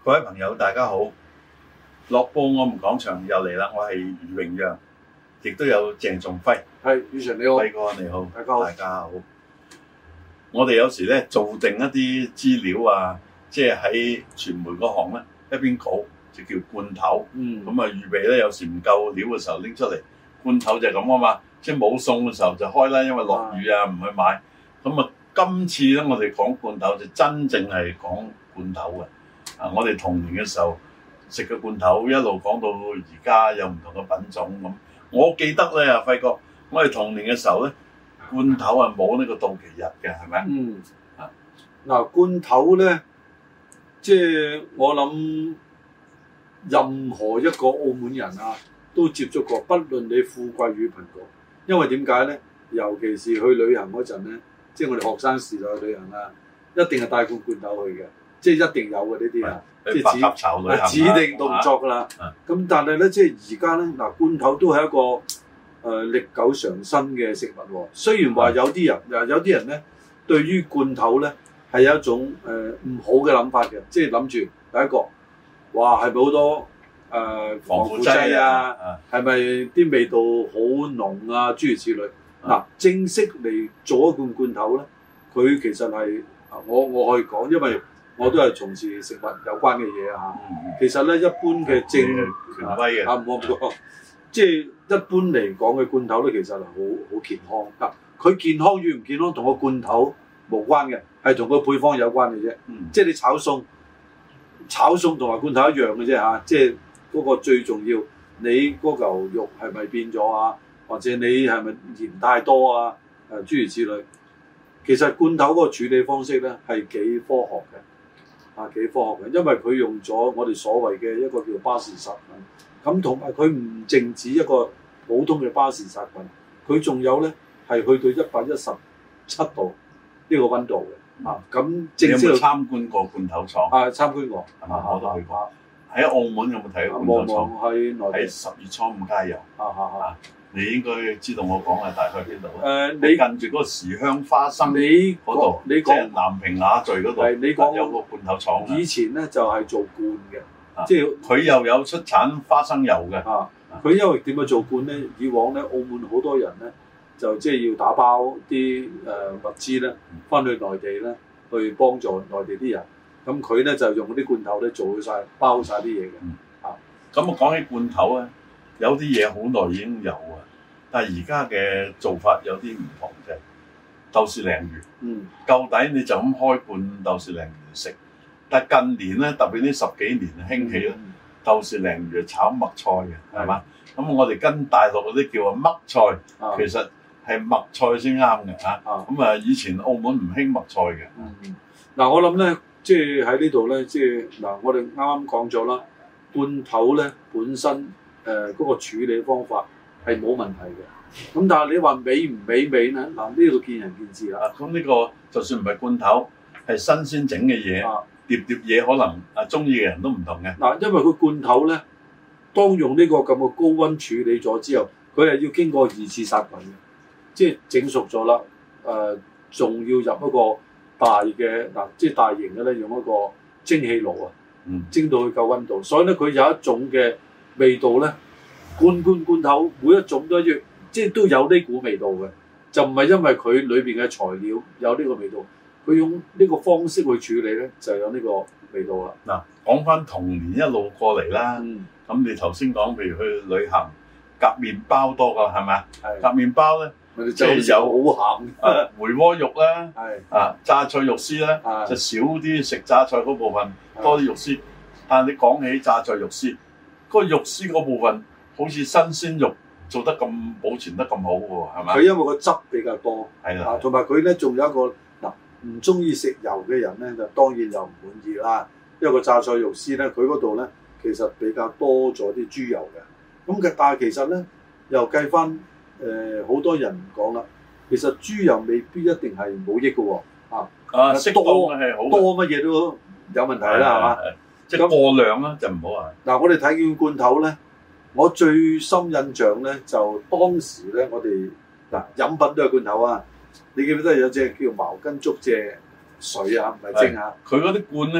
各位朋友，大家好！樂報我們講場又嚟啦，我係余榮陽，亦都有鄭仲輝。 係，余 Sir 你好， 輝哥你好， 大家好。 我哋有時咧做定一啲資料啊，即係喺傳媒嗰行咧一邊稿就叫罐頭。咁啊預備咧有時唔夠料嘅時候拎出嚟，罐頭就係咁啊嘛，即係冇餸嘅時候就開啦，因為落雨啊唔去買。咁啊今次咧我哋講罐頭就真正係講罐頭嘅。我哋童年嘅時候食嘅罐頭一路講到而家有唔同嘅品種咁。我記得咧啊輝哥，我哋童年嘅時候咧罐頭係冇呢個到期日嘅，係咪？ 嗱罐頭咧，即係我諗任何一個澳門人啊都接觸過，不論你富貴與貧窮。因為點解咧？尤其是去旅行嗰陣咧，即係我哋學生時代去旅行啦，一定係帶罐罐頭去嘅。即係一定有嘅呢啲啊，即係指定動作㗎啦。咁但係咧，即係而家咧，嗱罐頭都係一個歷久常新嘅食物喎。雖然話有啲人咧對於罐頭咧係有一種唔好嘅諗法嘅，即係諗住第一個，哇係咪好多防腐劑啊？係咪啲味道好濃啊？諸如此類。嗱正式嚟做一罐罐頭咧，佢其實係我可以講，因為我都係從事食物有關嘅嘢啊！其實咧，一般嘅權威嘅唔好即係一般嚟講嘅罐頭咧，其實係好健康。嗱，佢健康與唔健康同個罐頭無關嘅，係同個配方有關嘅啫。即係你炒餸同埋罐頭一樣嘅啫嚇。即係嗰個最重要，你嗰嚿肉係咪變咗啊？或者你係咪鹽太多啊？諸如此類。其實罐頭嗰個處理方式咧係幾科學嘅。幾科學嘅，因為佢用咗我哋所謂嘅一個叫巴氏殺菌，咁同埋佢唔淨止一個普通嘅巴氏殺菌，佢仲有咧係去到117度呢個溫度嘅。咁正式有冇參觀過罐頭廠？ 參觀過， 我都去過。喺澳門有冇睇過罐頭廠？喺10月初5加油。你應該知道我講係大概邊度？你近住嗰個時香花生嗰度，即係南屏雅聚嗰度，有個罐頭廠。 以前咧就係做罐嘅，即係佢又有出產花生油嘅。 佢因為點樣做罐咧？以往咧，澳門好多人咧就即係要打包啲物資咧，翻去內地咧去幫助內地啲人。咁佢咧就用嗰啲罐頭咧做晒包晒啲嘢嘅。 咁我講起罐頭咧，有啲嘢好耐已經有啊。但係而家嘅做法有啲唔同嘅，豆豉鯪魚，舊底你就咁開罐豆豉鯪魚食。但係近年咧，特別呢10幾年興起咧，豆豉鯪魚炒麥菜嘅，係嘛？咁我哋跟大陸嗰啲叫啊麥菜，其實係麥菜先啱嘅嚇。咁啊，以前澳門唔興麥菜嘅。 嗱，我諗咧，即係喺呢度咧，即係嗱，我哋啱啱講咗啦，罐頭咧本身嗰個處理方法係冇問題嘅，咁但係你話美唔美味咧？嗱，呢度見仁見智啦。 咁呢個就算唔係罐頭，係新鮮整嘅嘢，碟嘢可能中意嘅人都唔同嘅。 嗱，因為佢罐頭咧，當用呢個咁嘅高溫處理咗之後，佢係要經過2次殺菌嘅，即係整熟咗啦。仲要入一個大嘅即係大型嘅咧，用一個蒸氣爐啊，蒸到佢夠溫度，所以咧佢有一種嘅味道咧。罐頭每一種都一樣，即係都有呢股味道嘅，就唔係因為佢裏邊嘅材料有呢個味道，佢用呢個方式去處理咧，就有呢個味道啦。 嗱，講翻童年一路過嚟啦，咁你頭先講，譬如去旅行夾麵包多㗎，係咪啊？夾麵包咧，即係有好鹹回鍋肉啦，榨菜肉絲啦，就少啲食榨菜嗰部分，多啲肉絲。但係你講起榨菜肉絲，嗰個肉絲嗰部分，好似新鮮肉做得咁保存得咁好喎，係咪？ 佢因為個汁比較多， 係啦， 同埋佢咧仲有一個唔中意食油嘅人咧，就當然就唔滿意啦。因為個榨菜肉絲咧，佢嗰度咧其實比較多咗啲豬油嘅。咁但係其實咧又計翻好多人講啦，其實豬油未必一定係冇益嘅喎。 適當係好， 多乜嘢都有問題啦，係嘛？ 即係過量啦就唔好啊。 嗱，我哋睇見罐頭咧。我最深印象咧，就當時咧，我哋飲品都係罐頭啊！你記唔記得有隻叫茅根竹蔗水啊？唔係蒸啊！ 佢嗰啲罐咧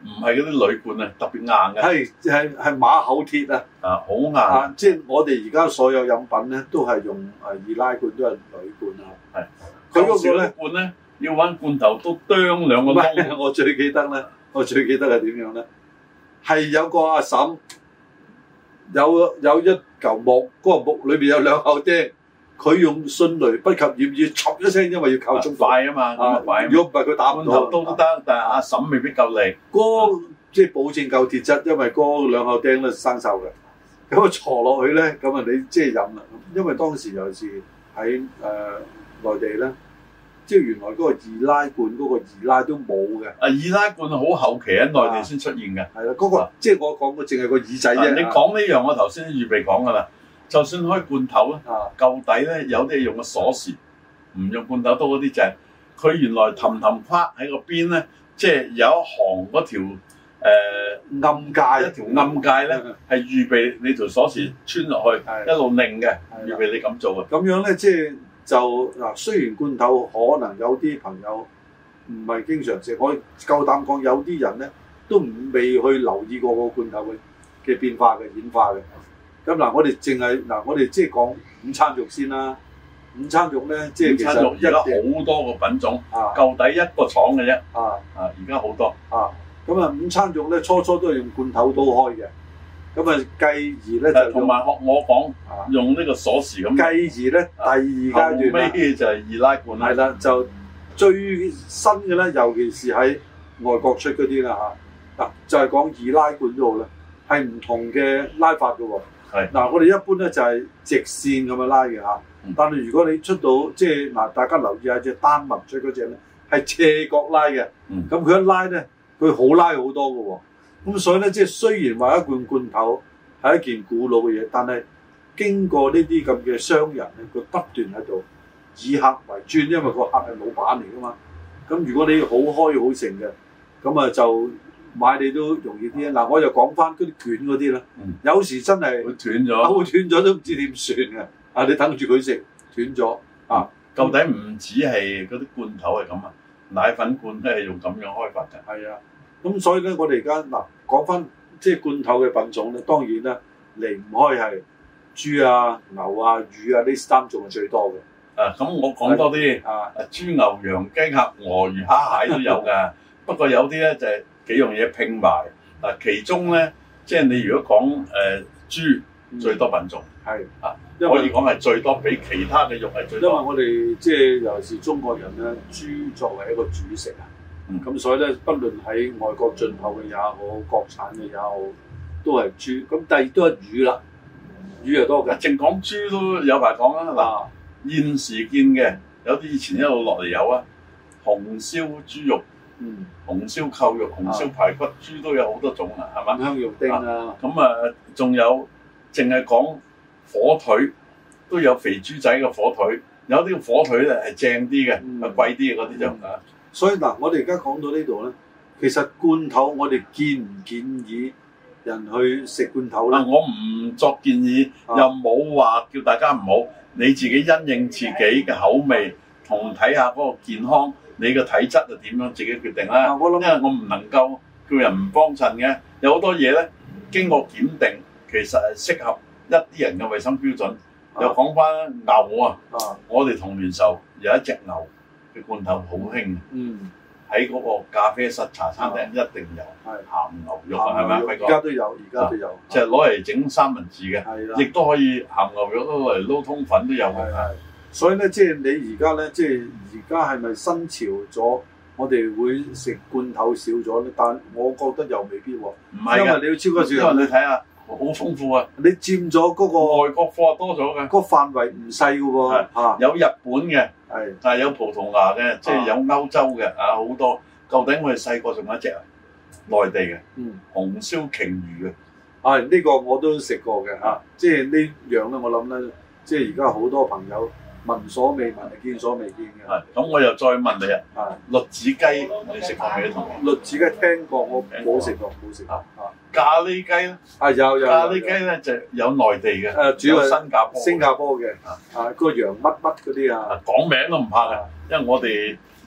唔係嗰啲鋁罐啊，特別硬嘅。 係馬口鐵啊！ 好硬。 即係我哋而家所有飲品咧，都係用易拉罐，都係鋁罐啊。 係。 佢嗰個咧罐咧，要揾罐頭都啄兩個窿。 我最記得係點樣咧？係有個阿嬸有一嚿木，嗰個木裏邊有兩口釘。佢用迅雷不及掩耳，唰一聲，因為要靠速快啊嘛，如果唔係佢打唔到。 罐頭都得，但係阿嬸未必夠力。 即係保證夠鐵質，因為嗰兩口釘咧生鏽嘅。咁啊坐落去咧，咁啊你即係飲啦。因為當時尤其是喺內地咧，即係原來嗰個易拉罐嗰個易拉都冇嘅。易拉罐好後期喺內地先出現嘅。 係啦，嗰個即係我講嘅淨係個耳仔啫。 你講呢樣，我頭先預備講㗎啦。就算開罐頭咧，舊底咧有啲係用個鎖匙，唔用罐頭刀嗰啲就係佢原來氹框喺個邊咧，即係有一行嗰條暗界， 一條暗界咧係預備你條鎖匙穿落去，一路擰嘅，預備你咁做嘅。 咁樣咧，即係就嗱，雖然罐頭可能有啲朋友唔係經常食，我夠膽講有啲人咧都未去留意過個罐頭嘅變化嘅演化嘅。咁嗱，我哋淨係嗱，我哋即係講午餐肉先啦。午餐肉咧，即係其實而家好多個品種，舊底一個廠嘅啫。而家好多。 咁啊，午餐肉咧，初都係用罐頭刀開嘅。咁啊，繼而咧就同埋學我講，用呢個鎖匙咁。 繼而咧，第二階段後尾就係易拉罐啦。 係啦，就最新嘅咧，尤其是喺外國出嗰啲啦嚇。嗱，就係講易拉罐都好啦，係唔同嘅拉法嘅喎。嗱，我哋一般咧就係直線咁樣拉嘅嚇，但係如果你出到即係嗱，大家留意下隻丹麥出嗰隻咧係斜角拉嘅，咁佢一拉咧佢好拉好多嘅喎，咁所以咧即係雖然話一罐頭係一件古老嘅嘢，但係經過呢啲咁嘅商人咧，佢不斷喺度以客為尊，因為個客係老闆嚟噶嘛，咁如果你好開好盛嘅，咁啊就買你都容易啲啊！嗱，我就講翻嗰啲卷嗰啲啦，有時真係會斷咗， 斷咗都唔知點算嘅。啊，你等住佢食斷咗啊！ 究竟唔止係嗰啲罐頭係咁啊，奶粉罐都係用咁樣開發嘅。 係啊，咁所以咧，我哋而家嗱講翻即係罐頭嘅品種咧，當然啦，離唔開係豬啊、牛啊、魚啊呢三種係最多嘅。 咁我講多啲豬、牛、羊、雞、鴨、鵝、魚、蝦、蟹都有㗎。不過有啲咧就係幾樣嘢拼埋嗱，其中咧即係你如果講豬最多品種可以講係最多，比其他嘅肉係最多。 因為我哋即係尤其是中國人咧，豬作為一個主食啊，咁所以咧，不論喺外國進口嘅也好，國產嘅也好，都係豬。咁第二都係魚啦，魚又多嘅。 淨講豬都有排講啦。嗱，現時見嘅有啲以前一路落嚟有啊，紅燒豬肉。紅燒扣肉、紅燒排骨，豬都有好多種啊，係嘛？ 香肉丁啊， 咁仲有淨係講火腿，都有肥豬仔嘅火腿，有啲火腿咧係正啲嘅，貴啲嘅嗰啲就所以嗱，我哋而家講到呢度咧，其實罐頭我哋建唔建議人去食罐頭咧？ 我唔作建議，又冇話叫大家唔好，你自己因應自己嘅口味同睇下嗰個健康。你個體質就點樣自己決定啦，因為我唔能夠叫人唔幫襯嘅，有好多嘢咧經過檢定，其實係適合一啲人嘅衞生標準。又講翻牛啊，我哋童年時候有一隻牛嘅罐頭好興，喺嗰個咖啡室茶餐廳一定有鹹牛肉啊，係咪啊？輝哥？ 而家都有， 即係攞嚟整三文治嘅，亦都可以鹹牛肉都攞嚟撈通粉都有嘅。 所以咧，即係你而家咧，即係而家係咪新潮咗？我哋會食罐頭少咗咧，但我覺得又未必喎。 唔係，因為你要超過少，因為你睇下好豐富啊！ 你佔咗嗰個外國貨多咗嘅， 個範圍唔細嘅喎。 有日本嘅，但係有葡萄牙嘅，即係有歐洲嘅好多。究竟我哋細個仲有一隻內地嘅，紅燒鯨魚嘅。 呢個我都食過嘅嚇。即係呢樣咧，我諗咧，即係而家好多朋友。聞所未聞，見所未見嘅。 咁我又再問你啊，栗子雞你食過未？同栗子雞聽過，我冇食過，冇食過。 咖喱雞咧？ 有。 咖喱雞咧就有內地嘅， 主要係新加坡嘅。個羊乜乜嗰啲啊， 講名都唔怕嘅，因為我哋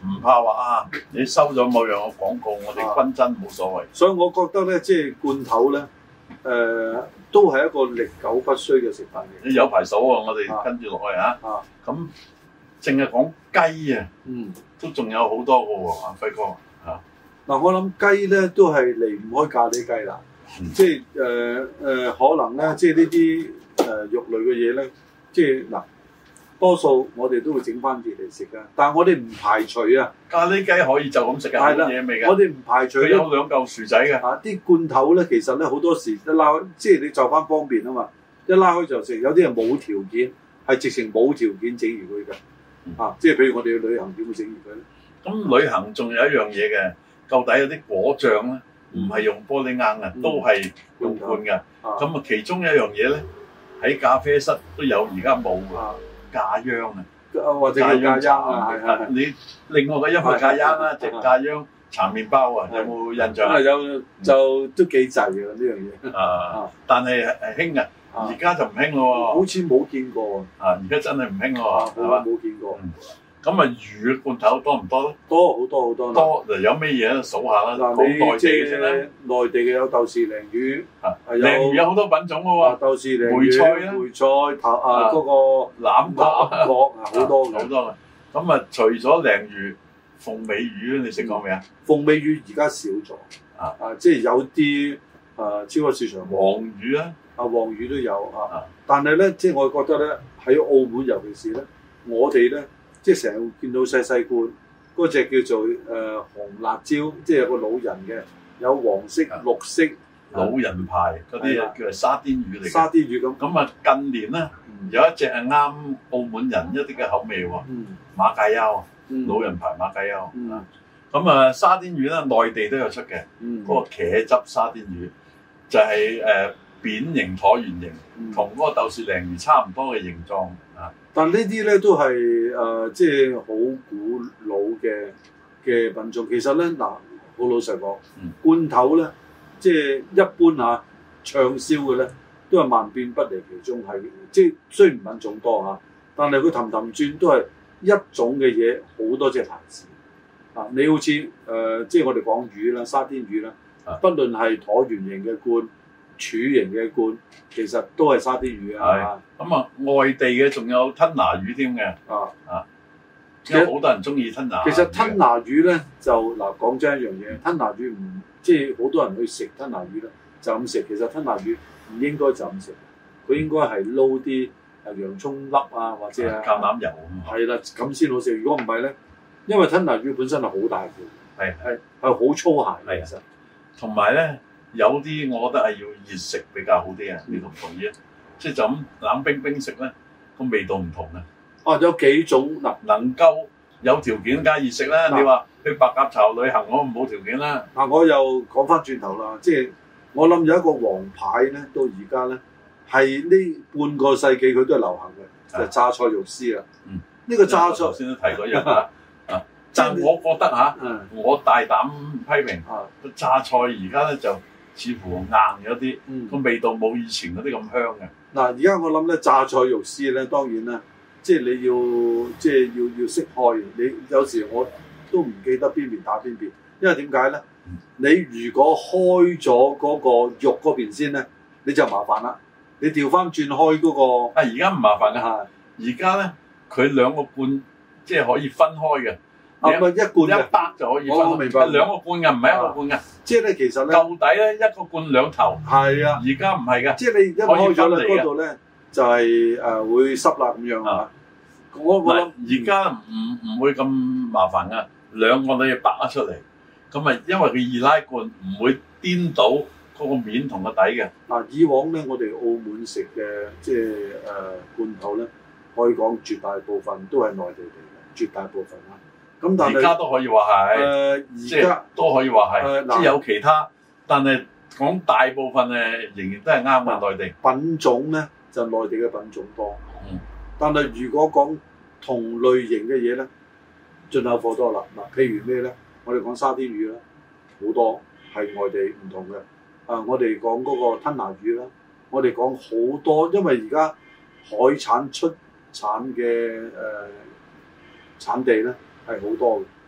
唔怕話啊，你收咗某樣嘅廣告，我哋均真冇所謂。 所以我覺得咧，即係罐頭咧，都係一個歷久不衰嘅食品嚟。 有排數喎，我哋跟住落去啊。咁淨係講雞啊，都仲有好多嘅喎，阿輝哥嚇。嗱， 我諗雞咧都係離唔開咖喱雞啦。即係可能咧，即係呢啲肉類嘅嘢咧，即係嗱。多數我哋都會整翻啲嚟食㗎，但係我哋唔排除啊。 咖喱雞可以就咁食㗎，冇嘢味㗎。 我哋唔排除。佢有兩嚿薯仔嘅。 啲罐頭咧，其實咧好多時一拉開，即係你就翻方便啊嘛，一拉開就食。有啲人冇條件，係直情冇條件整完佢㗎。即係譬如我哋去旅行點會整完佢咧？ 咁旅行仲有一樣嘢嘅，究底有啲果醬咧，唔係用玻璃罌嘅，都係用罐㗎。咁啊，其中一樣嘢咧，喺咖啡室都有，而家冇㗎。咖央啊， 或者叫咖央啊，係你另外個音係咖央啦，即係咖央搽麵包啊，有冇印象啊？ 有就都幾滯㗎呢樣嘢。 但係興啊，而家就唔興咯喎。 好似冇見過而家真係唔興咯喎，係嘛？ 冇見過。 咁啊，魚嘅罐頭多唔多咧？ 多好多好多。 多嗱，有咩嘢咧？數下啦。 嗱，你內地嘅先啦。內地嘅有豆豉鯪魚， 鯪魚有好多品種嘅喎。 豆豉鯪魚、 梅菜啦、 梅菜頭嗰個欖角好多好多嘅。咁啊，除咗鯪魚、鳳尾魚你食過未啊？ 鳳尾魚而家少咗。即係有啲超級市場黃魚啦， 黃魚都有但係咧，即係我覺得咧，喺澳門尤其是咧，我哋咧。即係成日見到細細罐，嗰隻叫做紅辣椒，即係有個老人嘅，有黃色、綠色老人牌嗰啲叫做沙甸魚嚟嘅。沙甸魚咁。 咁啊，近年咧有一隻係啱澳門人一啲嘅口味喎，馬介休，老人牌馬介休。咁啊，沙甸魚咧內地都有出嘅，嗰個茄汁沙甸魚就係扁形橢圓形，同嗰個豆豉鯪魚差唔多嘅形狀啊。 但呢啲咧都係即係好古老嘅品種。其實咧嗱，好老實講，罐頭咧即係一般暢銷嘅咧，都係萬變不離其宗，係即係雖然品種多但係佢氹氹轉都係一種嘅嘢，好多隻牌子你好似即係我哋講魚啦，沙甸魚啦，不論係橢圓形嘅罐、柱形嘅罐，其實都係沙甸魚啊。 咁外地嘅仲有吞拿魚添嘅。因為好多人中意吞拿魚。 其實吞拿魚咧就嗱講真一樣嘢，吞拿魚唔即係好多人去食吞拿魚咧就咁食。其實吞拿魚唔應該就咁食，佢應該係撈啲洋葱粒或者橄欖油係啦，咁先好食。如果唔係咧，因為吞拿魚本身係好大條，係好粗鞋嘅。其實同埋咧有啲我覺得係要熱食比較好啲你同唔同意啊？即係就咁冷冰冰食咧，個味道唔同嘅。 有幾種能夠有條件加熱食啦。你話去白鴿巢旅行，我冇條件啦。 我又講翻轉頭啦，即係我諗有一個王牌咧，到而家咧係呢半個世紀佢都係流行嘅，就係榨菜肉絲啦。呢個榨菜頭先都提過一樣但我覺得我大膽批評榨菜而家咧就似乎硬咗啲，個味道冇以前嗰啲咁香嘅。 嗱，而家我諗咧榨菜肉絲咧，當然啦，即係你要識開。你有時我都唔記得邊邊打邊邊，因為點解咧？你如果開咗嗰個肉嗰邊先咧，你就麻煩啦。你調翻轉開嗰個而家唔麻煩嘅，而家咧佢兩個罐即係可以分開嘅。 一罐一百就可以分。我明白。兩個罐嘅，唔係一個罐嘅。 即係咧，其實咧， 舊底咧一個罐兩頭。 係啊。 而家唔係嘅。 即係你一開咗咧，嗰度咧就係會濕啦咁樣我諗而家唔會咁麻煩㗎，兩個都要拔得出嚟。咁因為佢易拉罐唔會顛倒嗰個面同個底嘅。 以往咧我哋澳門食嘅即係罐頭咧，可以講絕大部分都係內地嚟嘅，絕大部分咁但係而家都可以話係，即係都可以話係，即係有其他，但係講大部分仍然都係啱嘅內地。 品種咧就內地嘅品種多，但係如果講同類型嘅嘢咧，進口貨多啦。譬如咩咧？我哋講沙甸魚啦，好多係外地唔同嘅。我哋講嗰個吞拿魚啦，我哋講好多，因為而家海產出產嘅產地咧係好多嘅，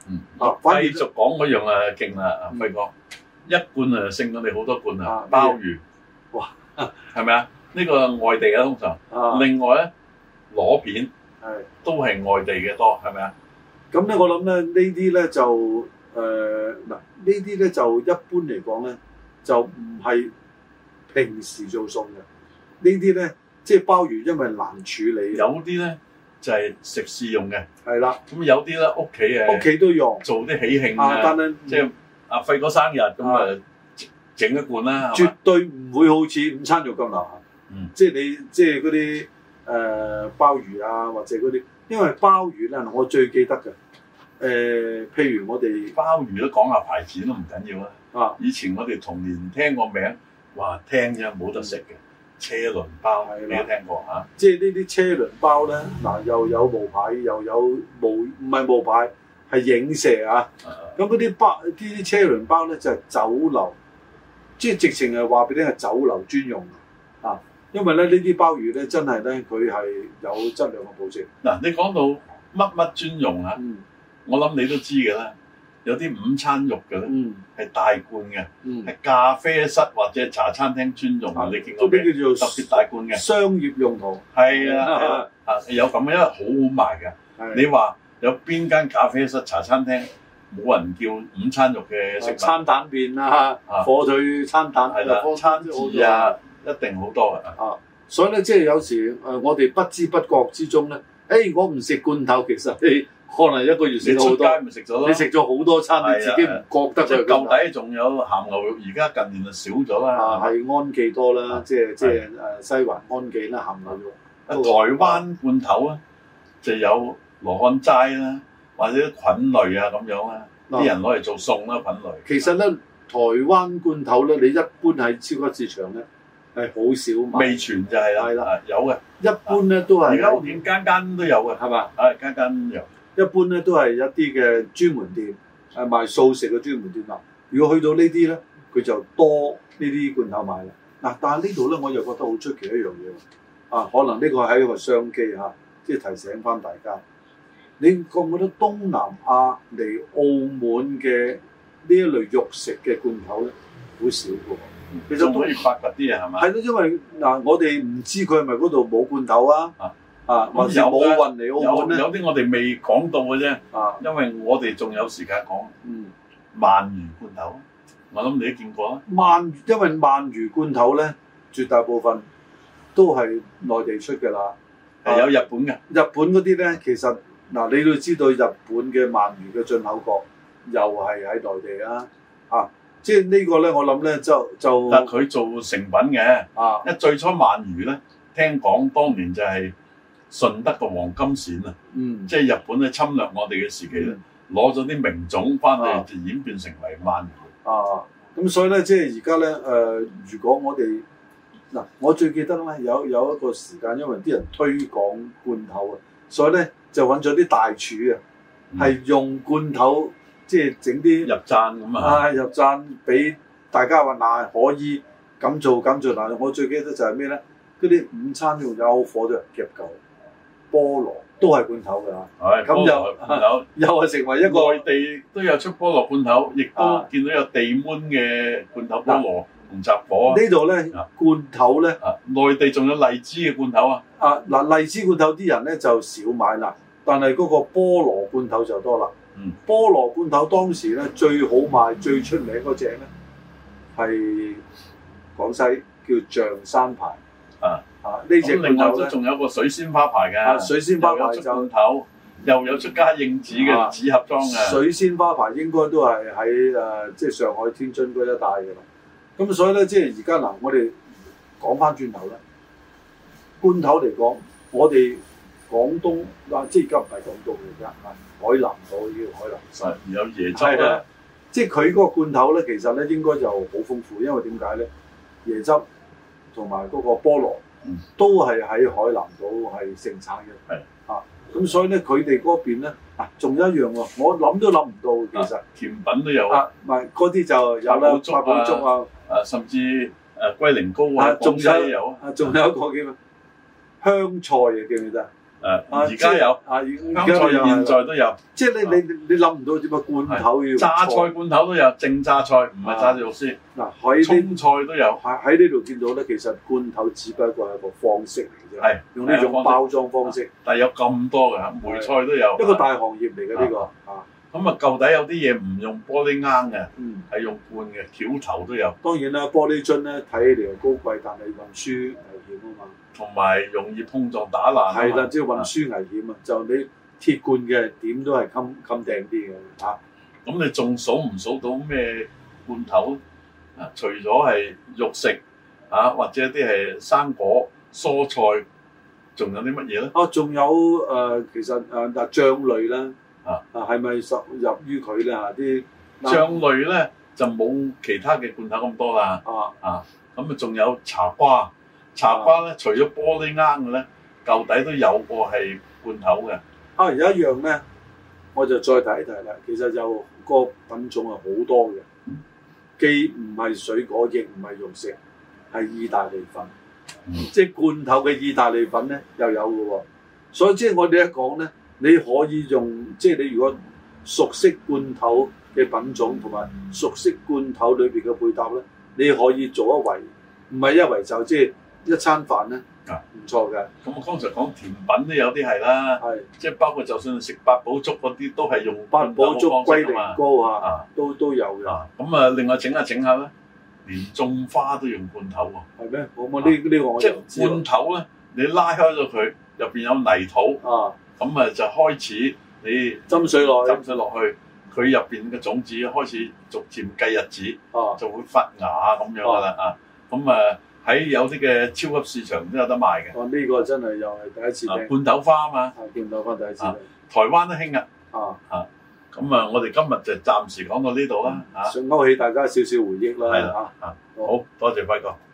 反而繼續講嗰樣啊，勁啦，輝哥，一罐啊勝過你好多罐啊，鮑魚， 哇， 係咪啊？呢個外地嘅通常，另外咧螺片都係外地嘅多，係咪啊？ 咁咧，我諗咧呢啲咧就嗱，呢啲咧就一般嚟講咧就唔係平時做餸嘅，呢啲咧即係鮑魚，因為難處理， 有啲咧就係食肆用嘅， 係啦。 咁有啲咧屋企都用做啲喜慶啊， 但係即係阿輝哥生日咁啊，整一罐啦， 絕對唔會好似午餐肉咁流行。即係你即係嗰啲鮑魚啊，或者嗰啲，因為鮑魚咧，我最記得嘅譬如我哋鮑魚都講下牌子都唔緊要啦。 啊， 以前我哋童年聽個名，話聽啫冇得食嘅車輪包，你都聽過嚇？ 即係呢啲車輪包咧，嗱又有無牌，又有唔係無牌，係影射啊。咁嗰啲車輪包咧就係酒樓，即係直情係話俾你係酒樓專用啊。因為咧呢啲鮑魚咧真係咧佢係有質量嘅保證。嗱， 你講到乜乜專用啊？我諗你都知嘅啦。有啲午餐肉嘅咧，係大罐嘅，係咖啡室或者茶餐廳專用嘅。你見過咩？叫做特別大罐嘅商業用途。 係啊，有咁嘅，因為好好賣㗎。你話有邊間咖啡室、茶餐廳冇人叫午餐肉嘅食物？ 餐蛋麵啊，火腿餐蛋係啦，餐字啊，一定好多嘅。 所以咧，即係有時我哋不知不覺之中咧，我唔食罐頭，其實你可能一個月食好多， 你食咗咯， 你食咗好多餐，你自己唔覺得佢。 舊底仲有鹹牛肉，而家近年就少咗啦。 係安記多啦，即係西環安記啦，鹹牛肉。 台灣罐頭啊，就有羅漢齋啦，或者菌類啊咁樣啦，啲人攞嚟做餸啦，菌類。 其實咧，台灣罐頭咧，你一般喺超級市場咧係好少買。 味全就係啦，係啦，有嘅。 一般咧都係。 而家我見間間都有嘅，係嘛？間間有。 一般咧都係一啲嘅專門店，賣素食嘅專門店啦。如果去到呢啲咧，佢就多呢啲罐頭賣啦。嗱，但係呢度咧，我又覺得好出奇一樣嘢喎。可能呢個係一個商機嚇，即係提醒翻大家。你覺唔覺得東南亞嚟澳門嘅呢一類肉食嘅罐頭咧，好少嘅？其實可以發掘啲嘢係嘛？ 係咯，因為我哋唔知佢係咪嗰度冇罐頭啊？或者冇運嚟澳門咧？ 有啲我哋未講到嘅啫。因為我哋仲有時間講。鰻魚罐頭，我諗你都見過啦。 因為鰻魚罐頭咧，絕大部分都係內地出嘅啦。 係有日本嘅。日本嗰啲咧，其實你都知道日本嘅鰻魚嘅進口國又係喺內地啦。即係呢個咧，我諗咧就但佢做成品嘅。因為最初鰻魚咧，聽講當年就係順德嘅黃金鱔啊。即係日本咧侵略我哋嘅時期咧，攞咗啲名種翻嚟就演變成為鰻魚。 咁所以咧，即係而家咧，如果我哋我最記得咧有一個時間，因為啲人推廣罐頭啊，所以咧就揾咗啲大廚啊，係用罐頭即係整啲入贊咁啊， 入贊俾大家話可以咁做咁做。我最記得就係咩咧？嗰啲午餐用有火嘅夾嚿菠蘿都係罐頭㗎。咁又係成為一個內地都有出菠蘿罐頭，亦都見到有地捫嘅罐頭菠蘿同雜果。 呢度咧罐頭咧， 內地仲有荔枝嘅罐頭啊。 荔枝罐頭啲人咧就少買啦，但係嗰個菠蘿罐頭就多啦。菠蘿罐頭當時咧最好賣、最出名嗰隻咧係廣西叫象山牌。呢隻罐頭咧， 仲有個水仙花牌嘅。 水仙花牌就罐頭，又有出家應紙嘅紙盒裝嘅。 水仙花牌應該都係喺即係上海、天津嗰一帶嘅啦。咁所以咧，即係而家我哋講翻轉頭咧，罐頭嚟講，我哋廣東即係而家唔係廣東嚟㗎，海南島叫海南省， 有椰汁啦。 即係佢嗰個罐頭咧，其實咧應該就好豐富，因為點解咧？椰汁同埋嗰個菠蘿都係喺海南島係盛產嘅。咁所以咧，佢哋嗰邊咧仲有一樣喎，我諗都諗唔到，其實甜品都有。 唔係嗰啲就有啦，八寶粥啊， 甚至龜苓膏啊， 仲有一個叫咩香菜嘅，記唔記得？ 而家有香菜，現在都有。 即係你諗唔到點解罐頭要榨菜罐頭都有，正榨菜唔係榨肉絲。 嗱，喺葱菜都有。 喺呢度見到咧，其實罐頭只不過係一個方式嚟嘅啫。 係用呢種包裝方式。 但係有咁多嘅，梅菜都有。 一個大行業嚟嘅呢個。 咁啊，舊底有啲嘢唔用玻璃罌嘅，係用罐嘅，橋頭都有。 當然啦，玻璃樽咧睇起嚟又高貴，但係運輸危險啊嘛。同埋容易碰撞打爛。 係啦，即係運輸危險啊！就你鐵罐嘅點都係襟掟啲嘅嚇。 咁你仲數唔數到咩罐頭啊？除咗係肉食啊，或者啲係生果、蔬菜，仲有啲乜嘢咧？ 仲有其實醬類啦。係咪屬入於佢咧嚇？啲醬類咧就冇其他嘅罐頭咁多啦。咁仲有茶瓜，茶瓜咧除咗玻璃罌嘅咧，舊底都有個係罐頭嘅。 有一樣咧，我就再提一提啦。其實就個品種係好多嘅，既唔係水果，亦唔係肉食，係意大利粉。即係罐頭嘅意大利粉咧又有嘅喎。所以即係我哋一講咧。你可以用，即係你如果熟悉罐頭嘅品種同埋熟悉罐頭裏邊嘅配搭咧，你可以做一圍，唔係一圍就即係一餐飯咧，唔錯嘅。 咁我剛才講甜品都有啲係啦，即係包括就算食八寶粥嗰啲都係用罐頭嘅方式㗎嘛。龜苓膏啊，都有嘅。咁啊，另外整下咧，連種花都用罐頭喎。係咩？我呢個我即係罐頭咧，你拉開咗佢，入邊有泥土。咁就開始你斟水落去， 佢入邊嘅種子開始逐漸計日子，就會發芽咁樣噶啦。咁喺有啲嘅超級市場都有得賣嘅。呢個真係又係第一次聽。罐頭花啊嘛，罐頭花第一次。台灣都興啊。咁我哋今日就暫時講到呢度啦。想勾起大家少少回憶啦。係啦。好多謝輝哥。